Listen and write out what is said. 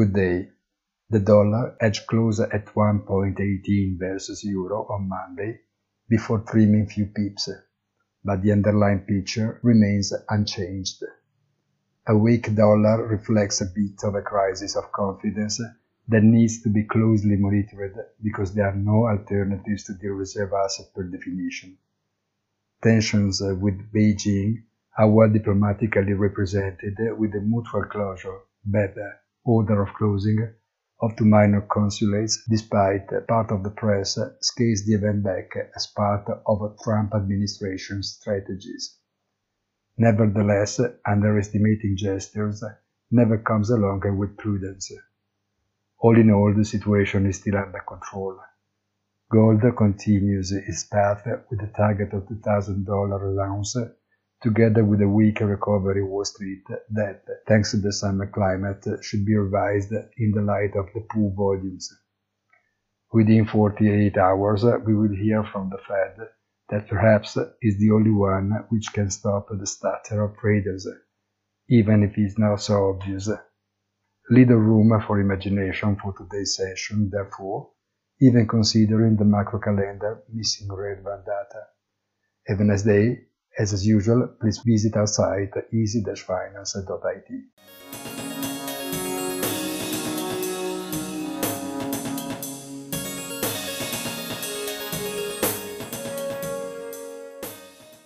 Good day. The dollar edged closer at 1.18 versus euro on Monday before trimming few pips, but the underlying picture remains unchanged. A weak dollar reflects a bit of a crisis of confidence that needs to be closely monitored because there are no alternatives to the reserve asset per definition. Tensions with Beijing are well diplomatically represented with the mutual closure, better order of closing, of two minor consulates, despite part of the press scales the event back as part of a Trump administration strategies. Nevertheless, underestimating gestures never comes along with prudence. All in all, the situation is still under control. Gold continues its path with a target of $2,000 an ounce, together with a weaker recovery in Wall Street that, thanks to the summer climate, should be revised in the light of the poor volumes. Within 48 hours, we will hear from the Fed that perhaps is the only one which can stop the stutter of traders, even if it's not so obvious. Little room for imagination for today's session, therefore, even considering the macro calendar missing relevant data. Have a nice day. As usual, please visit our site easy-finance.it.